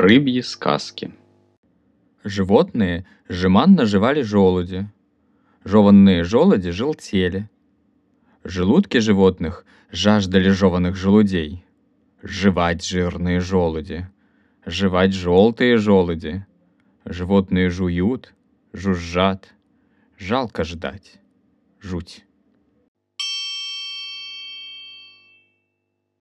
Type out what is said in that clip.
Рыбьи сказки. Животные жеманно жевали желуди. Жеванные желуди желтели. Желудки животных жаждали жеваных желудей. Жевать жирные желуди. Жевать желтые желуди. Животные жуют, жужжат. Жалко ждать. Жуть.